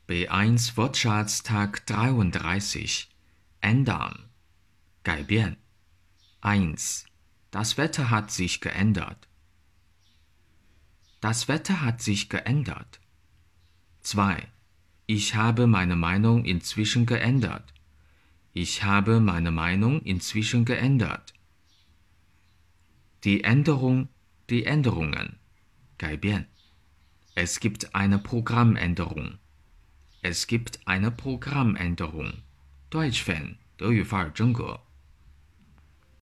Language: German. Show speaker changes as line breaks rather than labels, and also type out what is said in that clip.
B1 Wortschatztag 33. Ändern. 改变。1. Das Wetter hat sich geändert. Das Wetter hat sich geändert. 2. Ich habe meine Meinung inzwischen geändert. Ich habe meine Meinung inzwischen geändert. Die Änderung, die Änderungen. 改变。Es gibt eine Programmänderung. Es gibt eine Programmänderung. Deutsch Fan 德语范儿真格。